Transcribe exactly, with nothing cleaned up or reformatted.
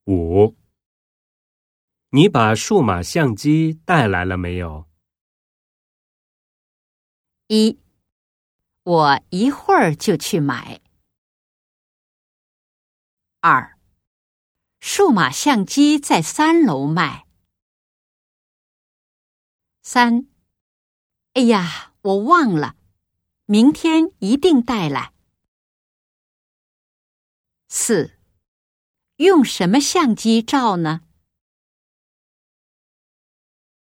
五，你把数码相机带来了没有？ 一，我一会儿就去买。二，数码相机在三楼卖。三，哎呀，我忘了，明天一定带来。四，用什么相机照呢？